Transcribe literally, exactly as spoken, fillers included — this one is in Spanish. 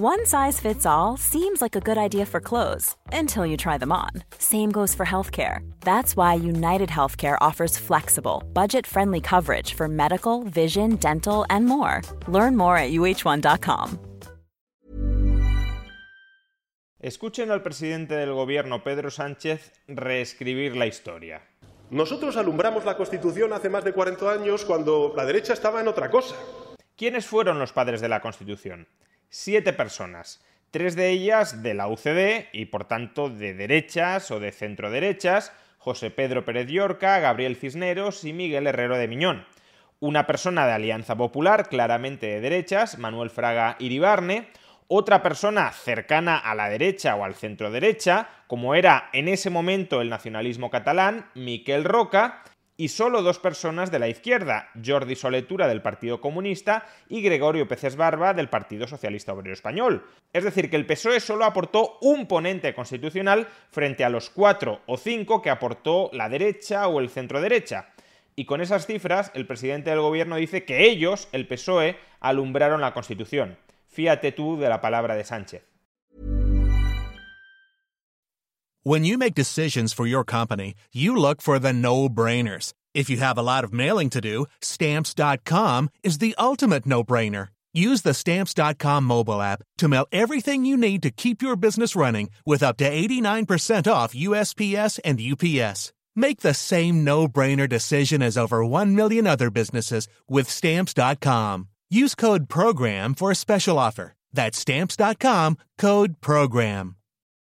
One size fits all seems like a good idea for clothes until you try them on. Same goes for healthcare. That's why United Healthcare offers flexible, budget-friendly coverage for medical, vision, dental, and more. Learn more at U H one dot com. Escuchen al presidente del gobierno, Pedro Sánchez, reescribir la historia. Nosotros alumbramos la Constitución hace más de cuarenta años cuando la derecha estaba en otra cosa. ¿Quiénes fueron los padres de la Constitución? Siete personas, tres de ellas de la U C D y por tanto de derechas o de centroderechas, José Pedro Pérez Llorca, Gabriel Cisneros y Miguel Herrero de Miñón. Una persona de Alianza Popular, claramente de derechas, Manuel Fraga Iribarne. Otra persona cercana a la derecha o al centro-derecha, como era en ese momento el nacionalismo catalán, Miquel Roca, y solo dos personas de la izquierda, Jordi Soletura del Partido Comunista y Gregorio Peces Barba del Partido Socialista Obrero Español. Es decir, que el P S O E solo aportó un ponente constitucional frente a los cuatro o cinco que aportó la derecha o el centro-derecha. Y con esas cifras, el presidente del gobierno dice que ellos, el P S O E, alumbraron la Constitución. Fíate tú de la palabra de Sánchez. When you make decisions for your company, you look for the no-brainers. If you have a lot of mailing to do, Stamps dot com is the ultimate no-brainer. Use the Stamps dot com mobile app to mail everything you need to keep your business running with up to eighty-nine percent off U S P S and U P S. Make the same no-brainer decision as over one million other businesses with Stamps dot com. Use code PROGRAM for a special offer. That's Stamps dot com, code PROGRAM.